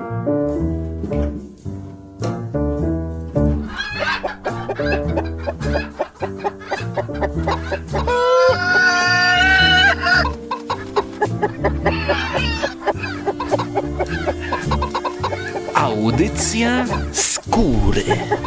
Audycja skóry.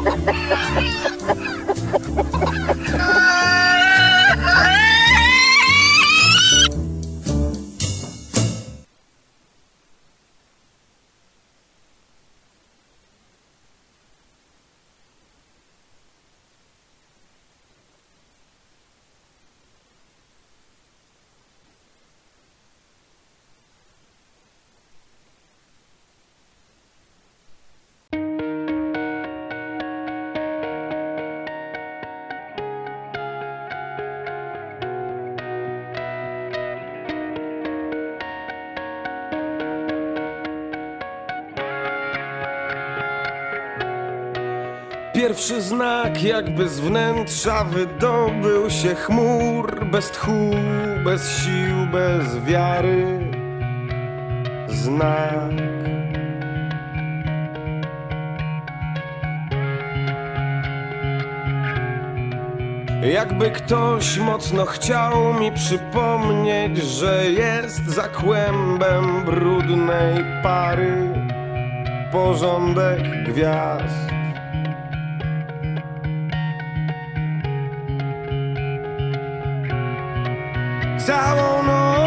Pierwszy znak jakby z wnętrza wydobył się chmur. Bez tchu, bez sił, bez wiary. Znak. Jakby ktoś mocno chciał mi przypomnieć, że jest za kłębem brudnej pary porządek gwiazd. Całą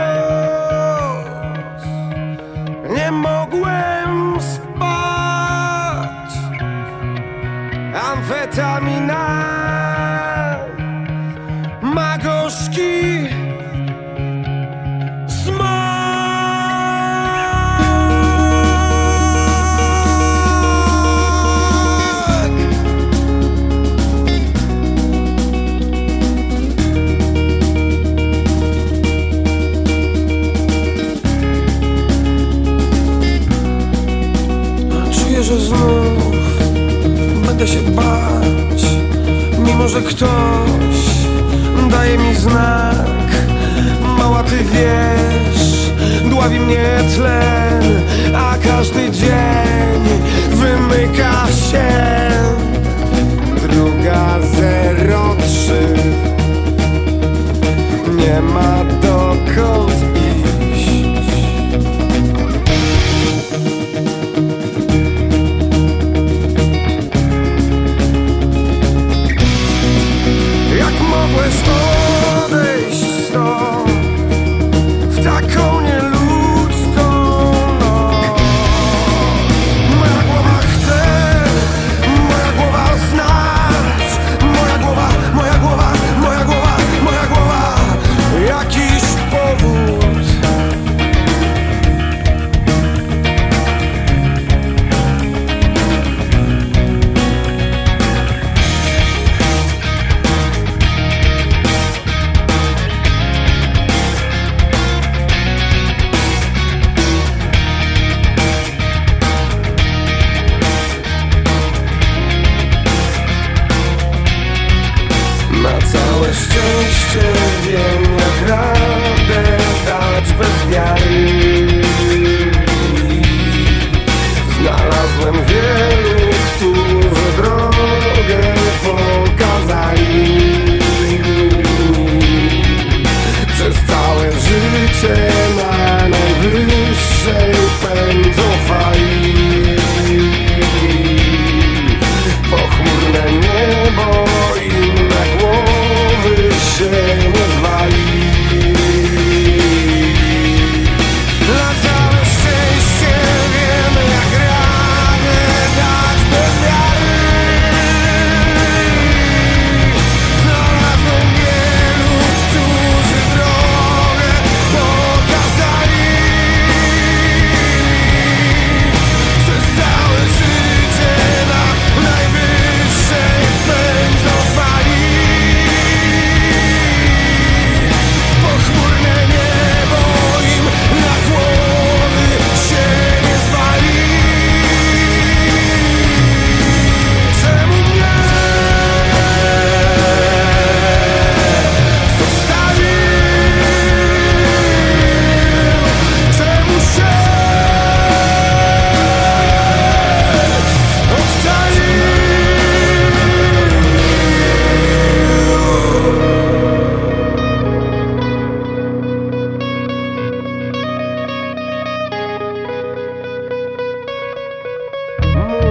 noc nie mogłem spać. Amfetamina ma gorzki smak. Że znów będę się bać, mimo że ktoś daje mi znak. Mała, ty wiesz, dławi mnie tlen, a każdy dzień wymyka się. 2:03 nie ma dokąd iść. Mogłeś odejść stąd w taką nieludzką noc. Moja głowa chce, moja głowa znać. Moja głowa, moja głowa, moja głowa, moja głowa. Jakiś powód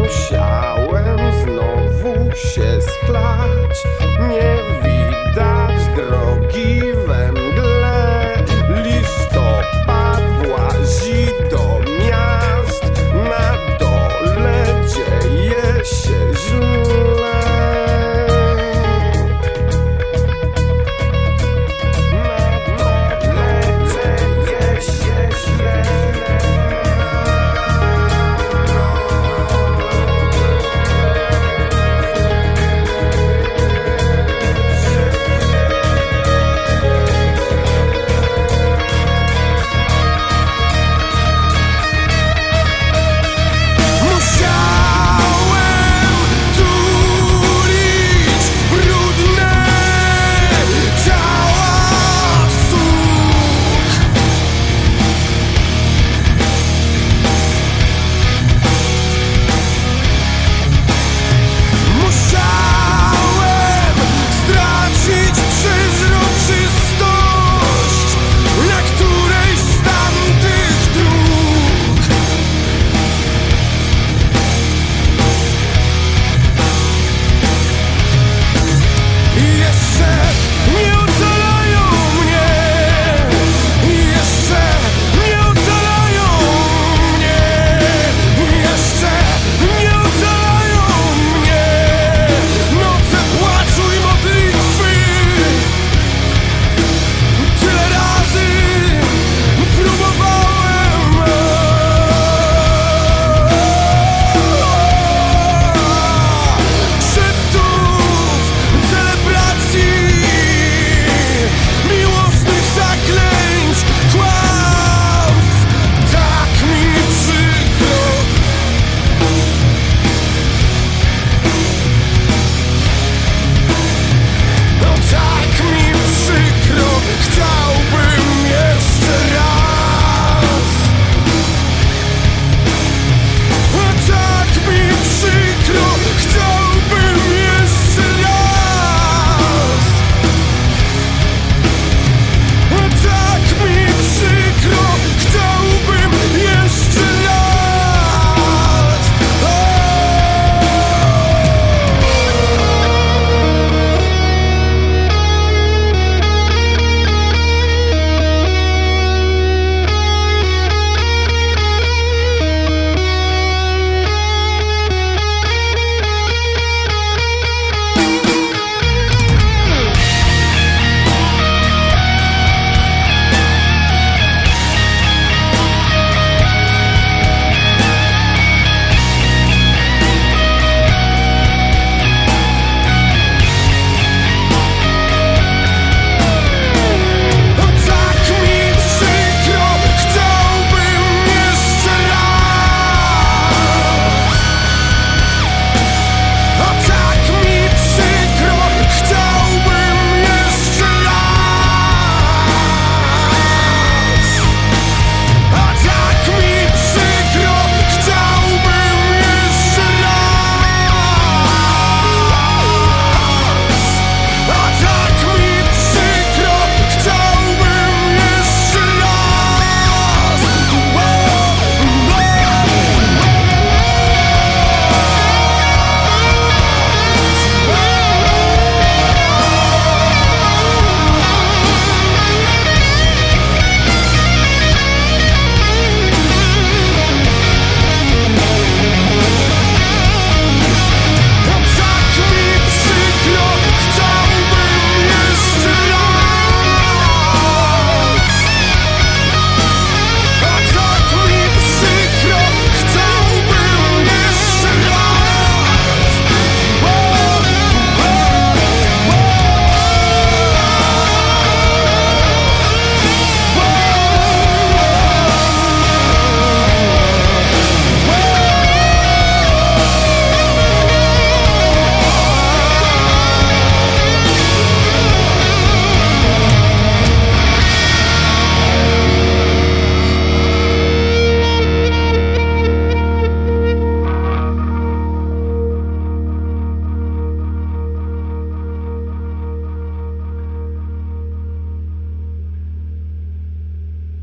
musiałem znowu się schlać. Nie widać drogi we mgle. Listopad włazi do miast. Na dole dzieje się źle.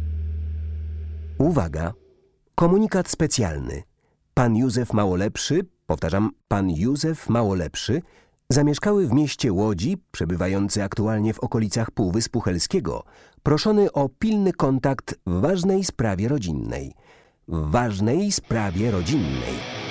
Uwaga! Komunikat specjalny. Pan Józef Małolepszy powtarzam, pan Józef Małolepszy, zamieszkały w mieście Łodzi, przebywający aktualnie w okolicach Półwyspu Helskiego, proszony o pilny kontakt w ważnej sprawie rodzinnej. W ważnej sprawie rodzinnej.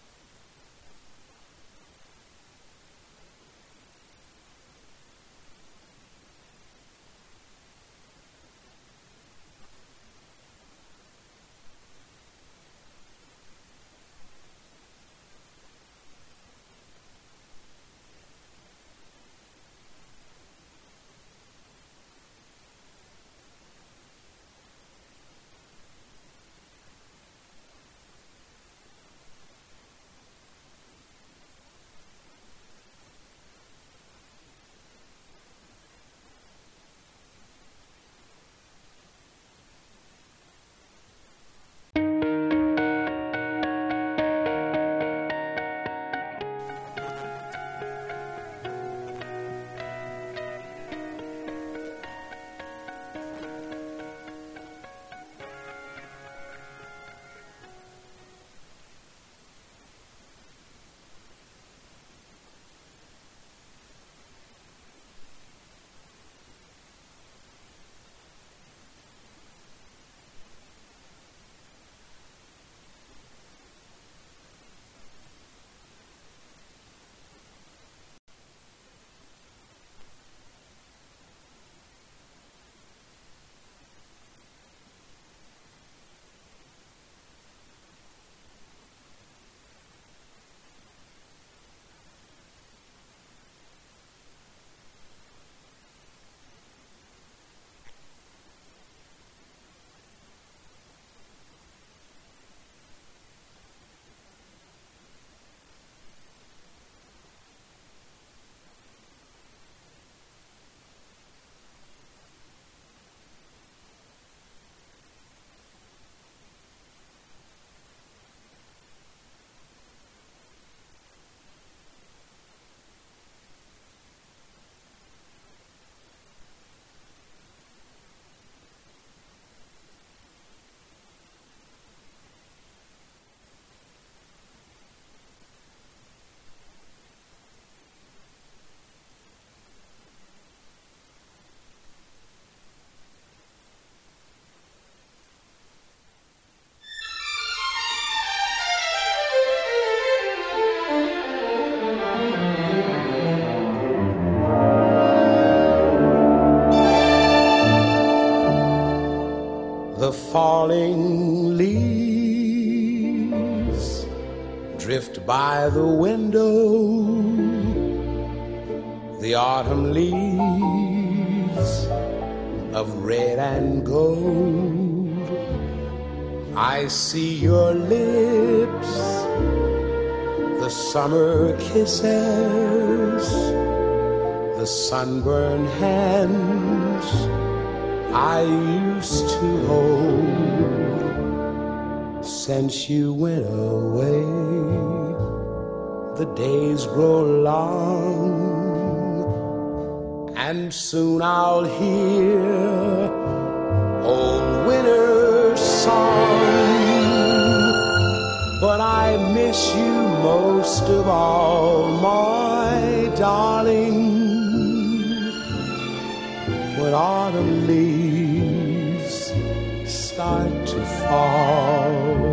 The falling leaves drift by the window, the autumn leaves of red and gold. I see your lips, the summer kisses, the sunburned hands I used to hold. Since you went away, the days grow long, and soon I'll hear old winter's song. But I miss you most of all, my darling, when autumn leaves start to fall.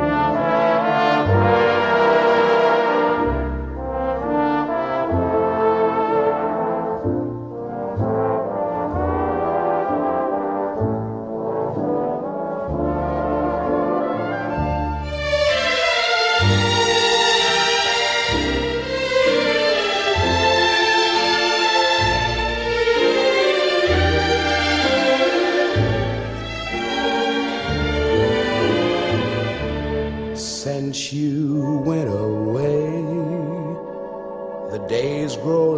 Since you went away, the days grow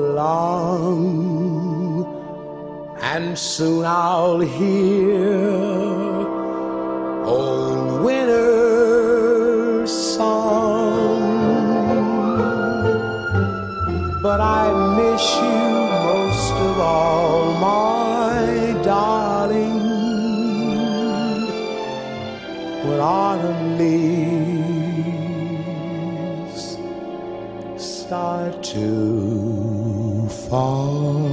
long, and soon I'll hear old winter's song. But I miss you most of all, my darling, when autumn leaves start to fall.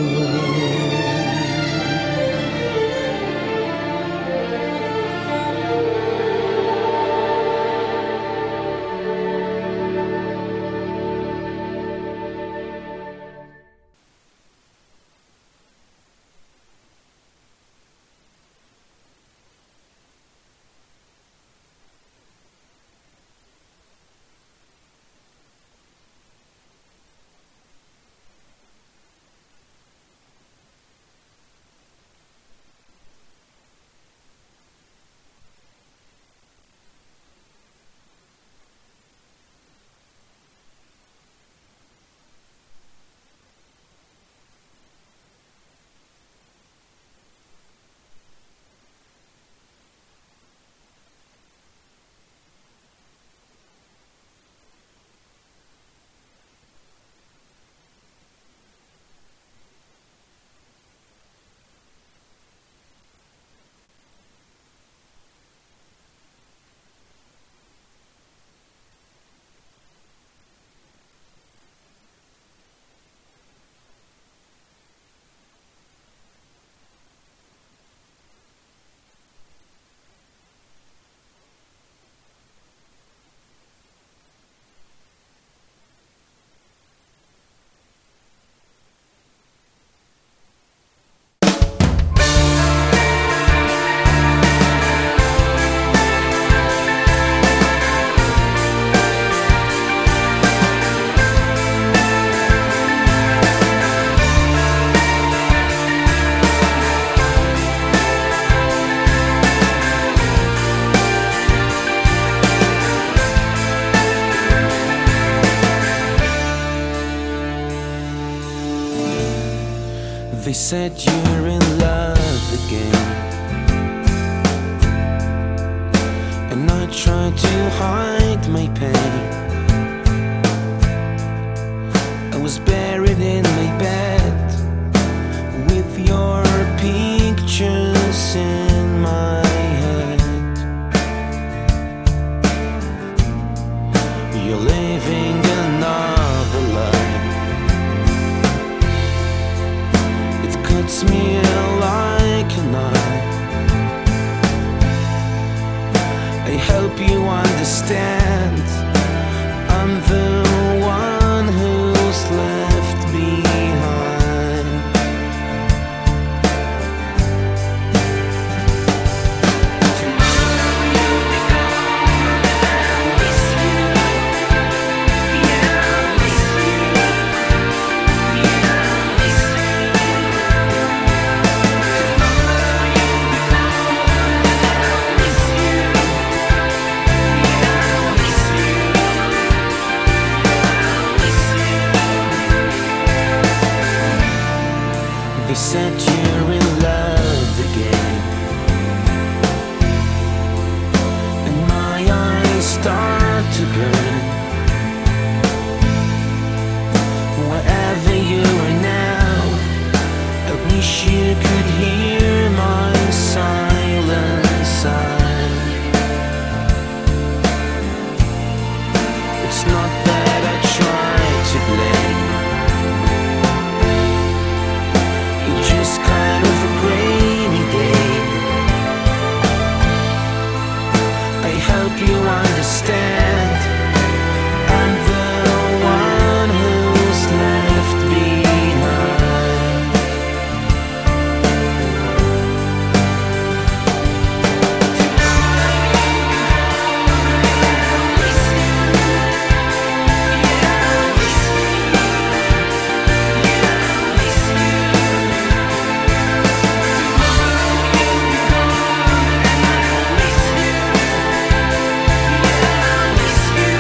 They said you're in love again, and I tried to hide my pain. I was buried in my bed with your pictures in my head. You're living another life. It cuts me like a knife. I hope you understand. I'm the one who's left behind. Tomorrow you'll be gone and I'll miss you. Yeah, I'll miss you. Yeah, I'll miss you. Tomorrow you'll be gone and I'll miss you. Yeah, I'll miss you. They said you're in love again, and my eyes start to burn. Wherever you are now, I wish you could hear my silent sigh. It's not that I try to blame. It's just kind of a rainy day. I hope you understand. I'm the one who's left behind. Tomorrow you'll be gone and I'll miss you. Yeah, I'll miss you.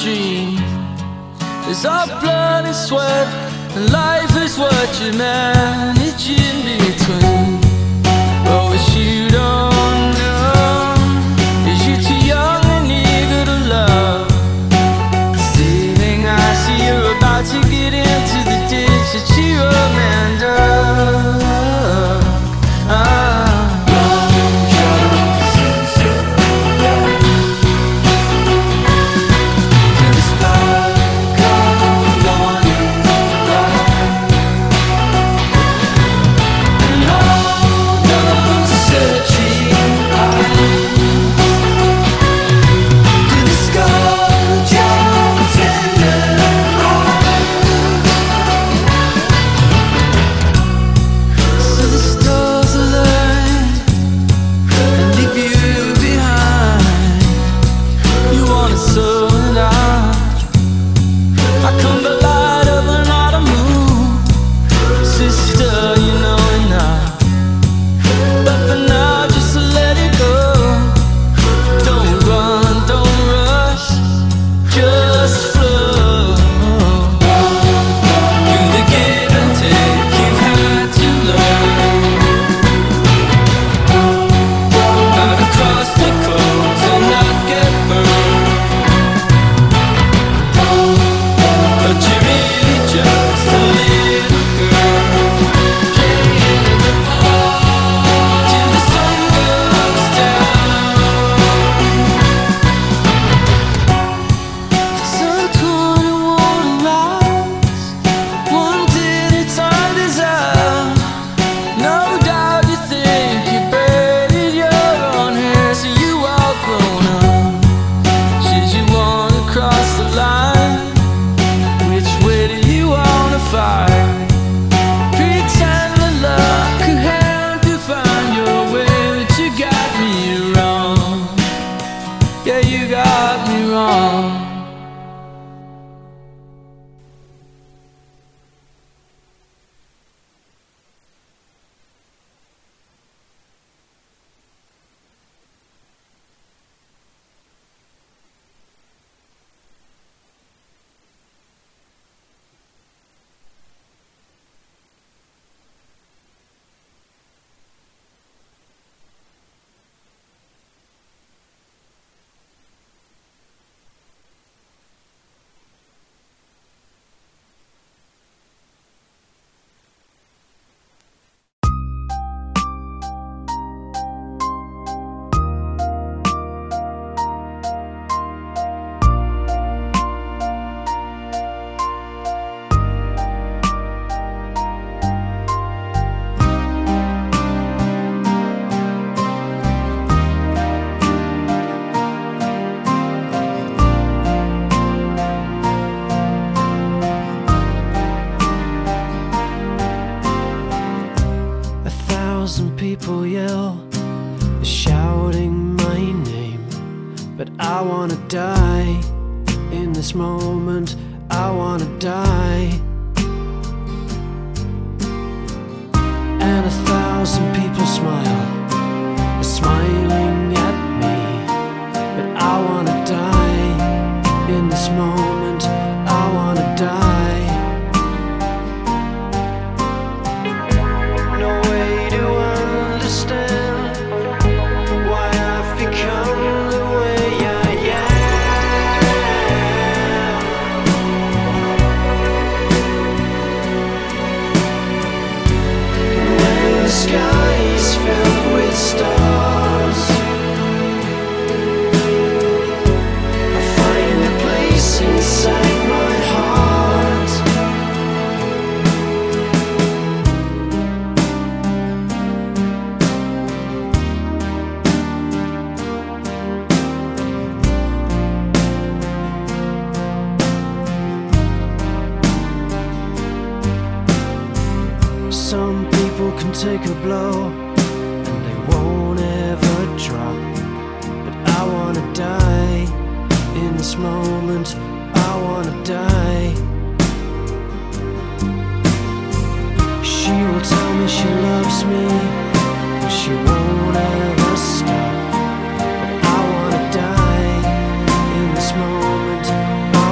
dream. It's our blood and sweat, and life is what you manage in between. Oh, what you don't know is you're too young and eager to love. Sailing, I see you're about to get into the ditch that you abandoned. People yell, shouting my name, but I wanna die in this moment. I wanna die. And 1,000 people smile, smiling at me, but I wanna die in this moment. I wanna die. Some people can take a blow and they won't ever drop, but I wanna die in this moment. I wanna die. She will tell me she loves me, but she won't ever stop. But I wanna die in this moment. I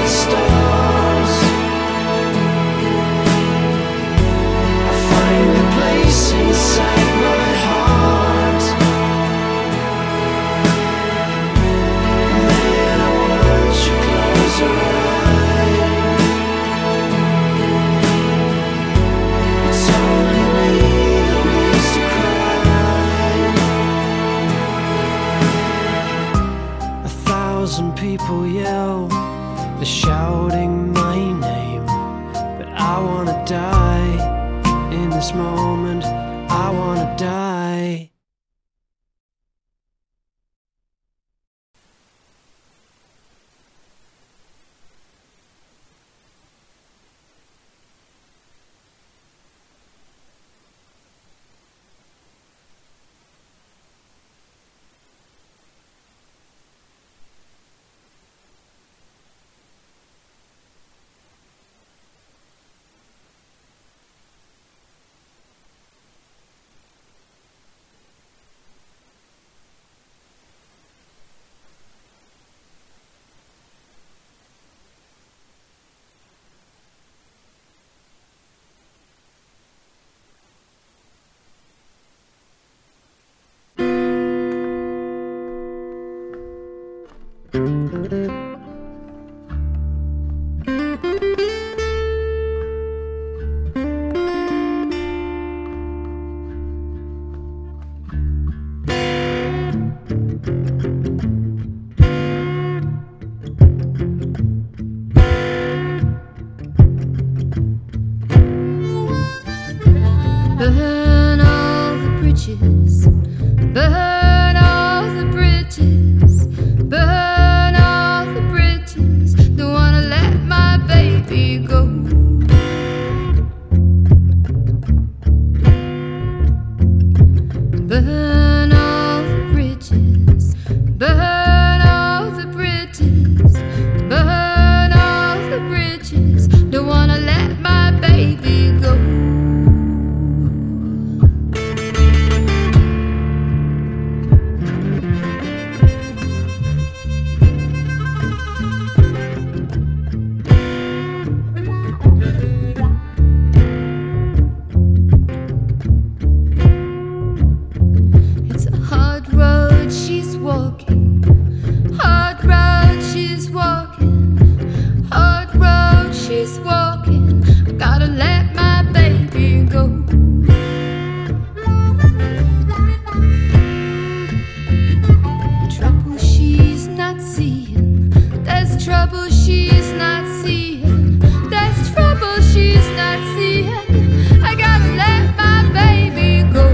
the stars. I find a place inside my heart, and then I watch you close your eyes. It's only me that needs to cry. 1,000 people yell, they're shouting my name, but I wanna die in this moment. I wanna die. Burn all the bridges, burn all the bridges, burn all the bridges. Don't wanna let my baby go. Burn all the bridges, burn all the bridges, burn all the bridges. Don't wanna let my baby go. It's a hard road she's walking, hard road she's walking, hard road she's walking. I gotta let my baby go. Trouble she's not seeing, there's trouble she's not seeing, there's trouble she's not seeing. I gotta let my baby go.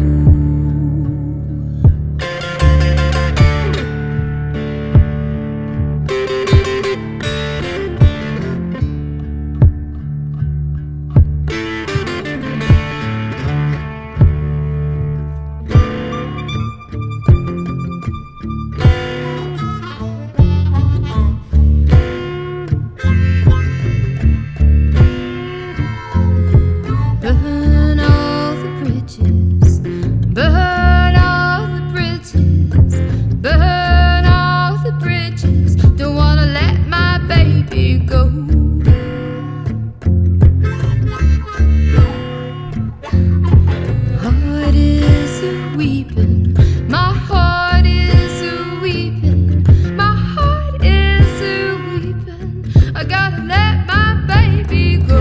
Burn all the bridges, burn all the bridges, burn all the bridges. Don't wanna let my baby go. Heart is a weeping, my heart is a weeping, my heart is a weeping. I gotta let my baby go.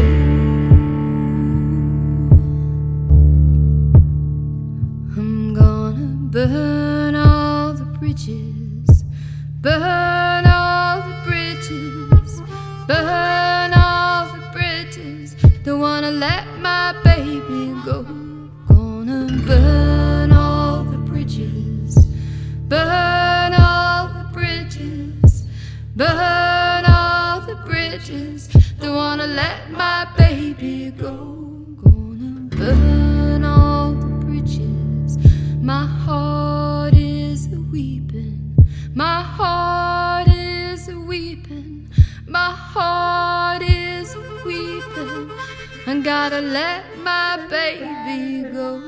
I'm gonna burn all the bridges, burn all the bridges, burn all the bridges. Don't wanna let my baby go. Gonna burn all the bridges, burn all the bridges, burn all the bridges. Don't wanna let my baby go. Gonna burn all the bridges. My heart is a weeping, my heart is a weeping, my heart is a weeping. I gotta let my baby go.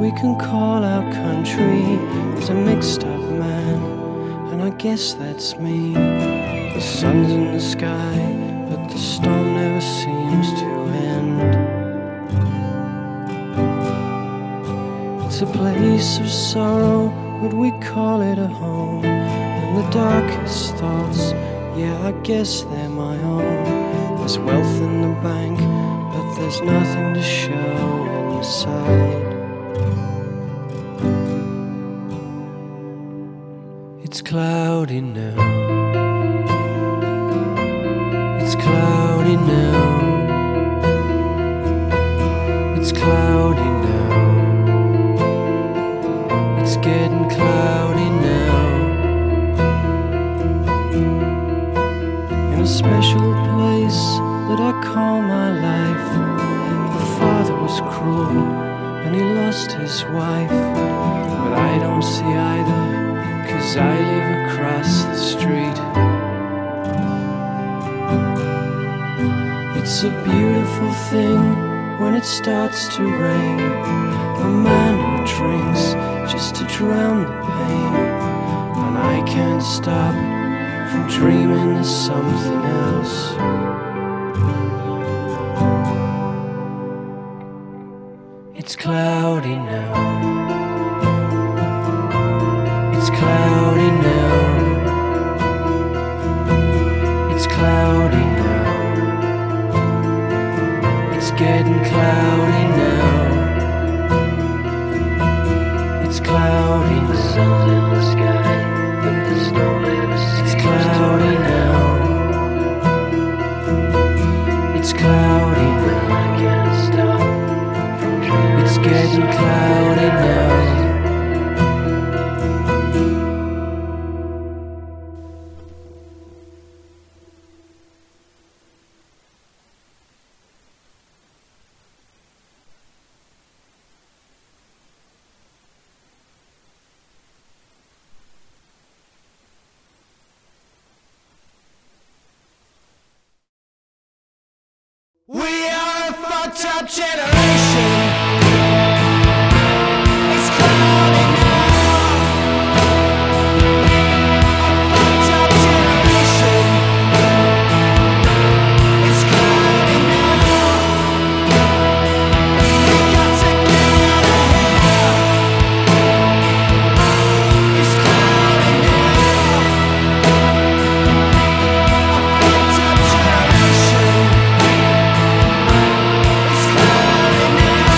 we can call our country is a mixed up man, and I guess that's me. The sun's in the sky, but the storm never seems to end. It's a place of sorrow, would we call it a home? And the darkest thoughts, yeah, I guess they're my own. There's wealth in the bank, but there's nothing to show inside. It's cloudy now. It's cloudy now. It's cloudy now. It's getting cloudy now. In a special place that I call my life, my father was cruel and he lost his wife, but I don't see either, 'cause I live across the street. It's a beautiful thing when it starts to rain, a man who drinks just to drown the pain, and I can't stop from dreaming of something else. It's cloudy now. It's cloudy now. It's cloudy now. It's getting cloudy now. It's cloudy now. The sun's in the sky, but the storm never seems. It's cloudy now. It's cloudy now. I can't stop from dreaming. It's getting cloudy now. We are a fucked up generation. It's cloudy now. A fucked up generation. It's cloudy now. We got to get out of here. It's cloudy now. A fucked up generation. It's cloudy now.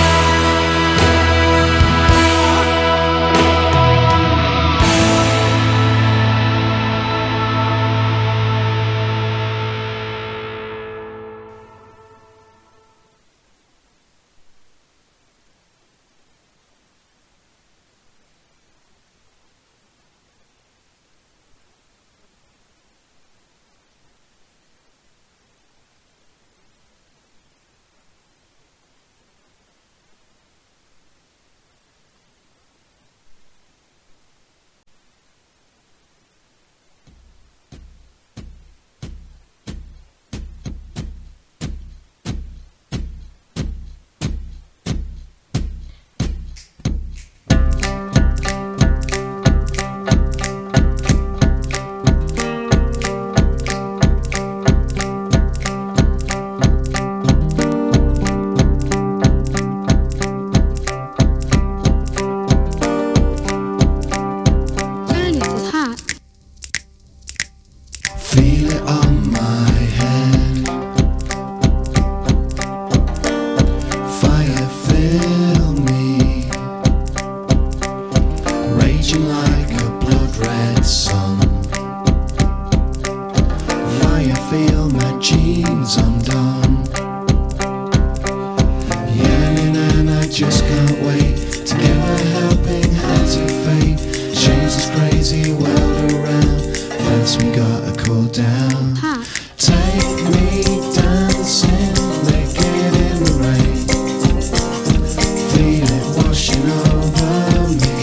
Tony is hot. Feel it on my head. Fire fill me, raging like a blood red sun. Fire feel my jeans undone. Yearning and I just can't wait to give a helping hand to fate. Change this crazy world around. First we gotta cool down. Hot. Take me dancing, naked in the rain. Feel it washing over me.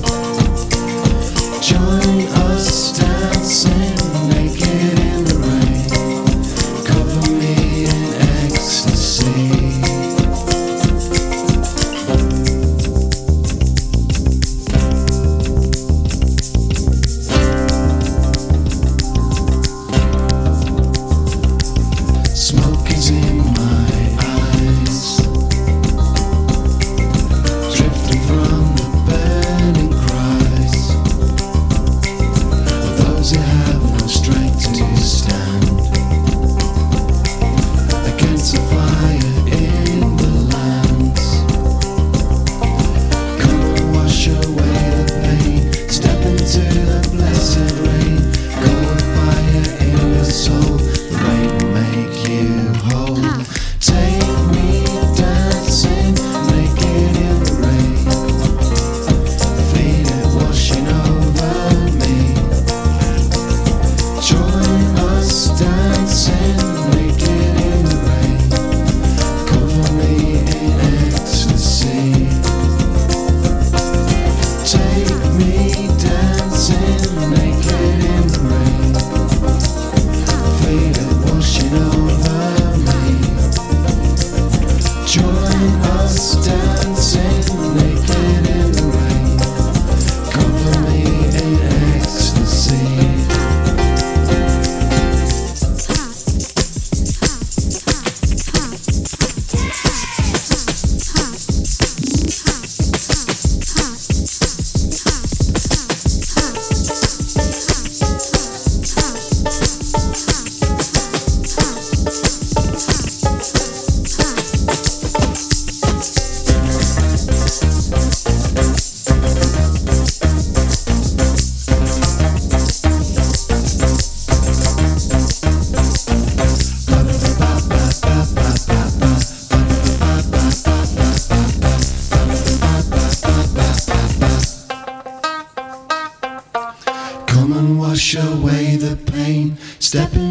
Join us dancing, naked in the rain. Cover me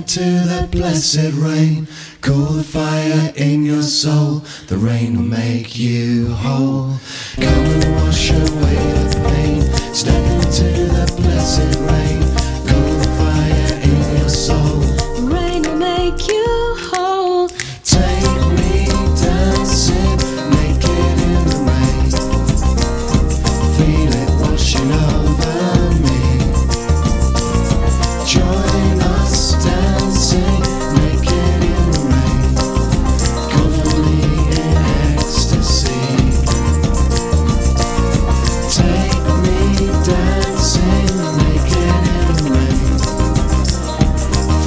into that blessed rain. Cool the fire in your soul. The rain will make you whole. Come and wash away the pain. Step into that blessed rain. Cool the fire in your soul. The rain will make you whole. Take me dancing naked in the rain. Feel it washing over me. Join us dancing naked in the rain. Cover me in ecstasy. Take me dancing naked in the rain.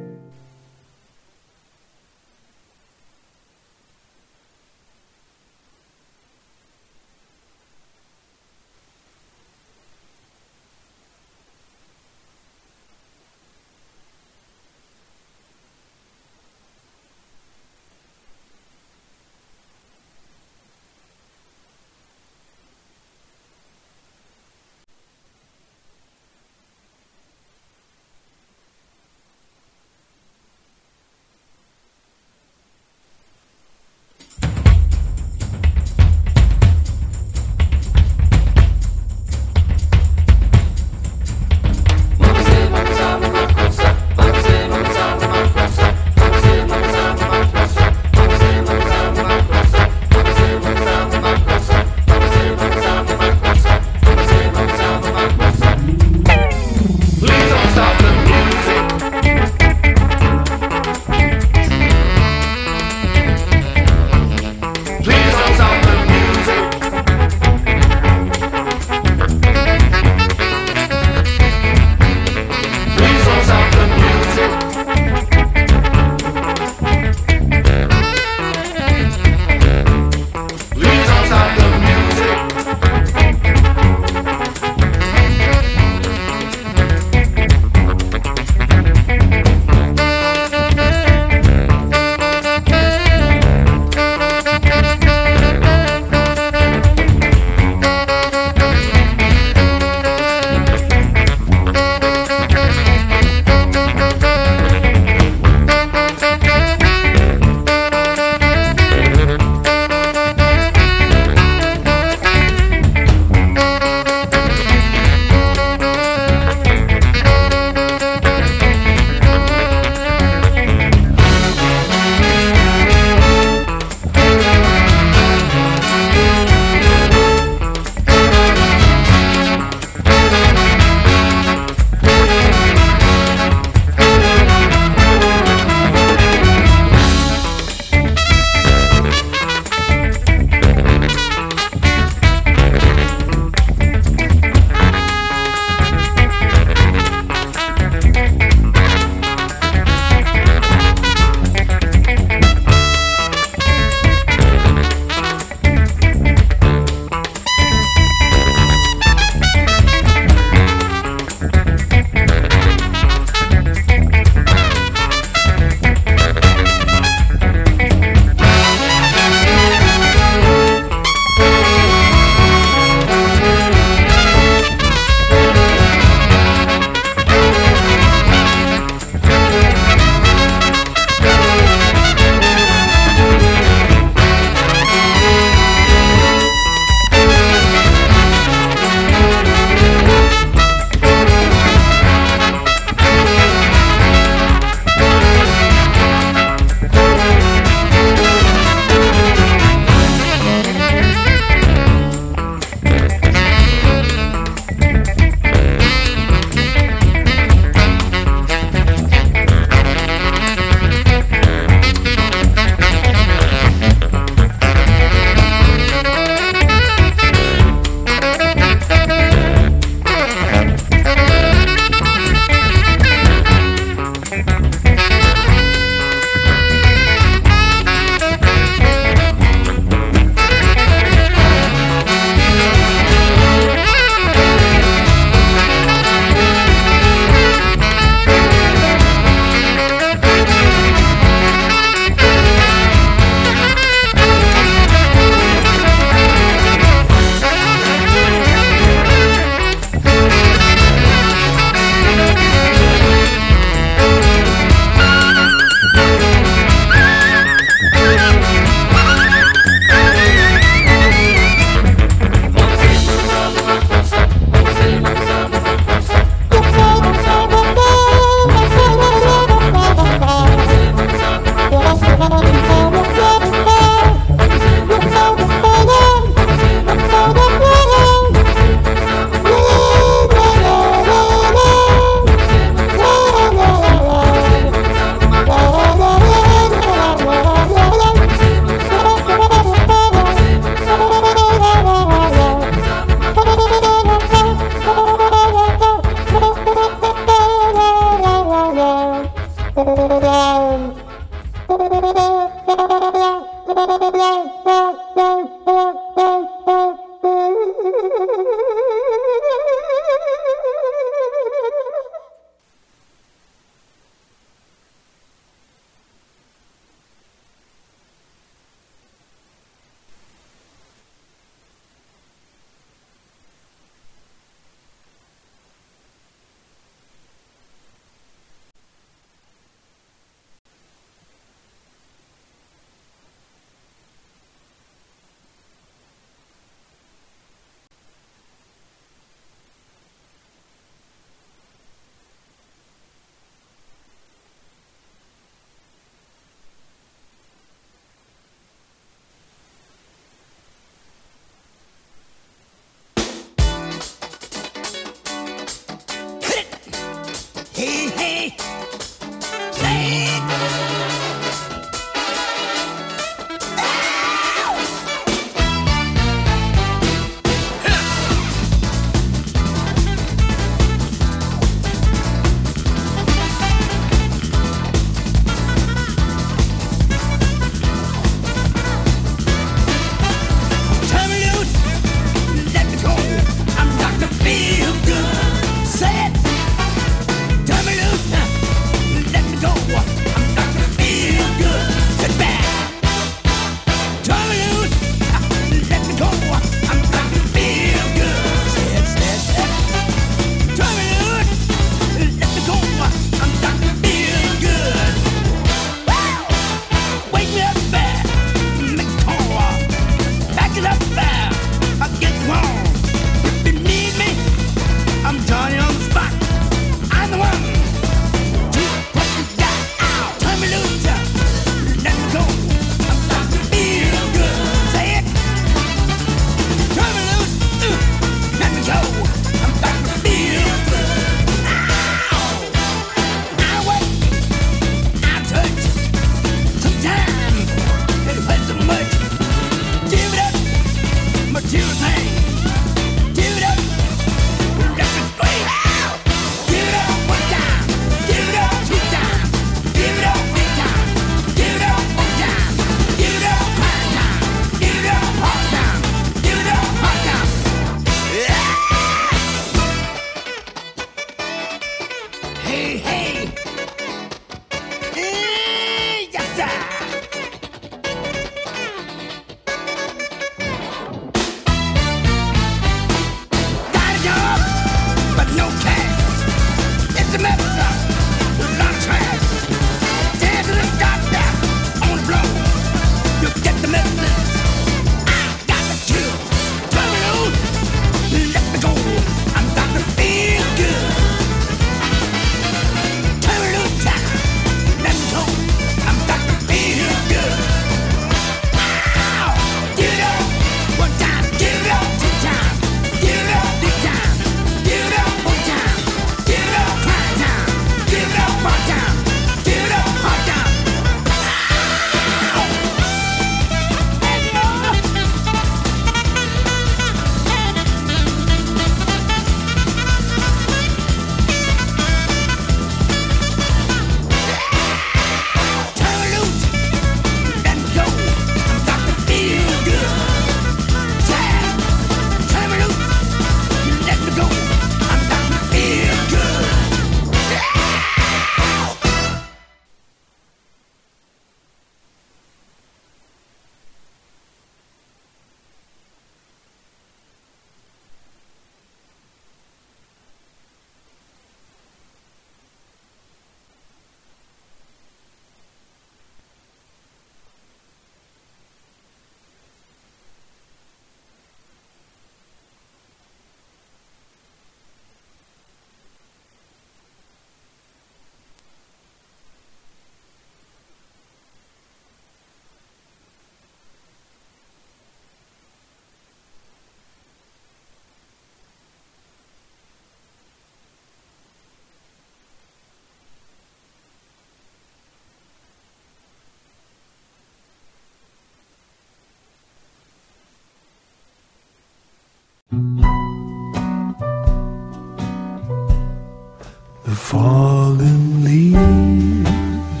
The fallen leaves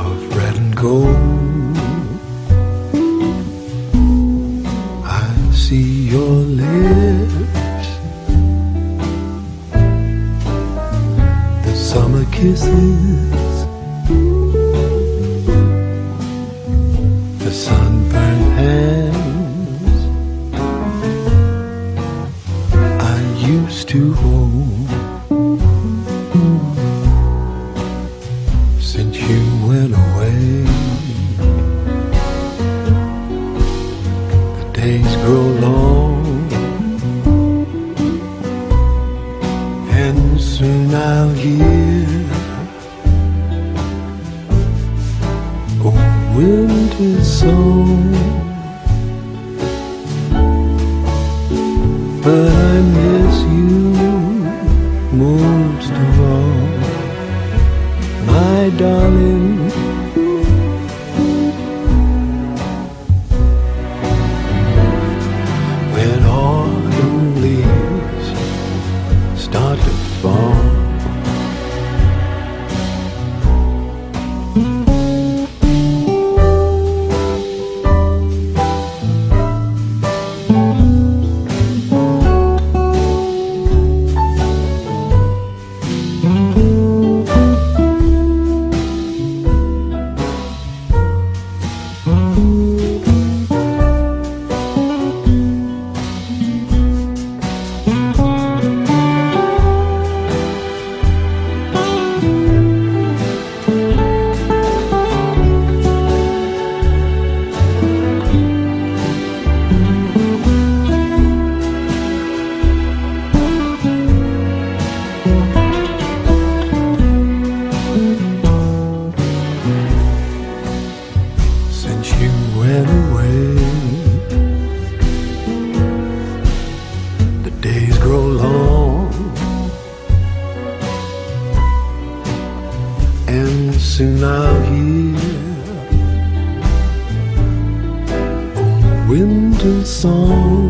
of red and gold. I see your lips, the summer kisses, the sunburned hands I used to hold. Since you went away, the days grow long, and soon I'll hear a winter song. But I miss you most of all, my darling. When autumn leaves start to fall, soon I'll hear a winter song.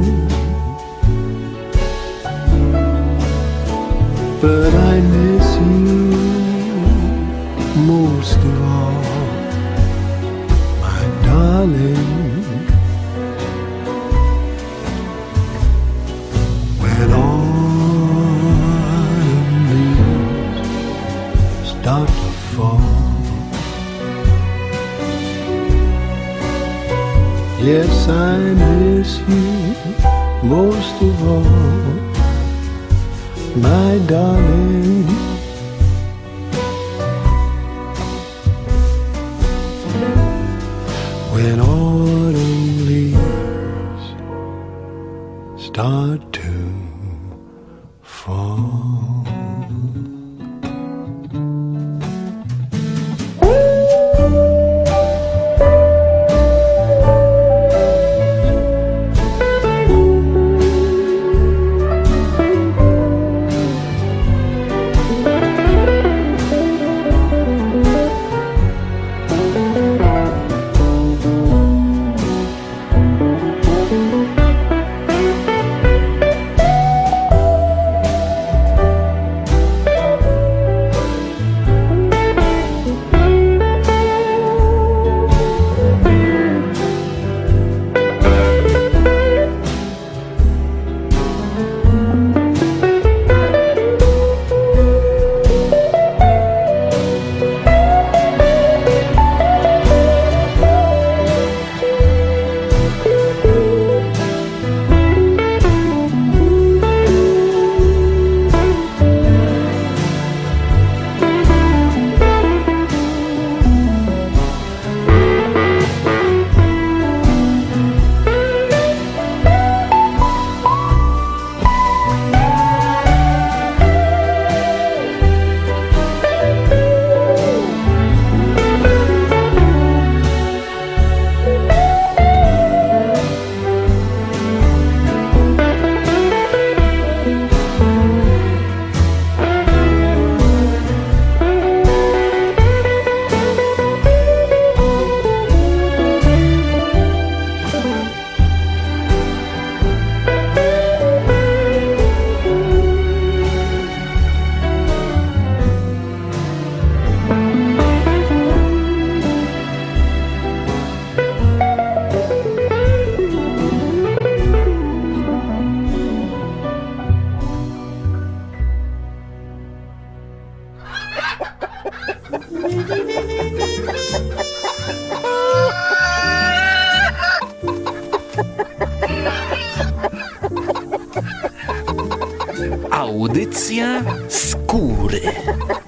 But I miss you most of all, my darling. When autumn leaves start to fall, yes, I miss you most of all, my darling. When autumn leaves start to fall. Audycja skóry.